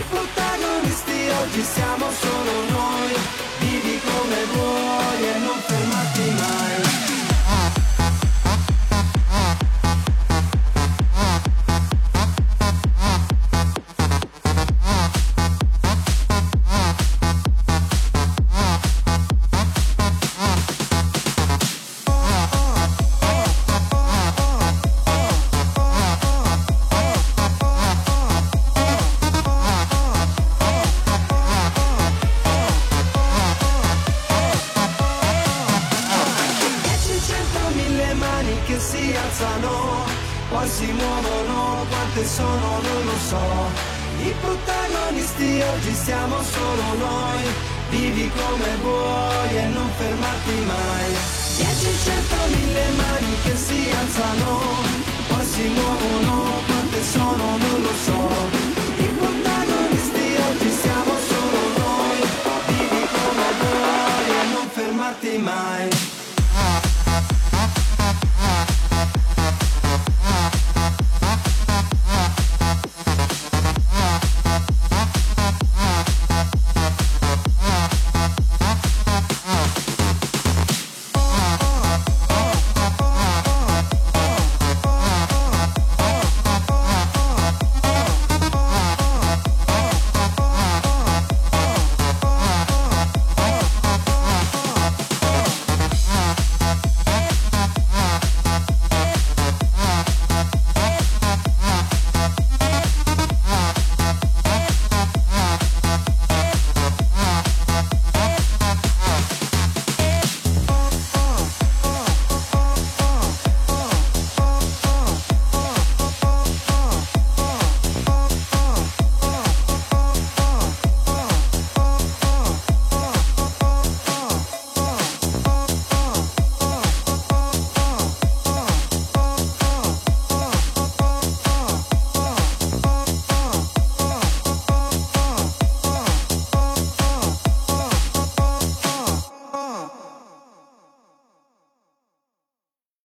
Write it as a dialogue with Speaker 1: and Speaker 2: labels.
Speaker 1: protagonisti oggi siamo solo noi. Vivi come vuoi e non fermarti mai. Che si alzano, poi si muovono, quante sono non lo so. I protagonisti oggi siamo solo noi. Vivi come vuoi e non fermarti mai. 10, 100, 1000 mani che si alzano, poi si muovono, quante sono non lo so.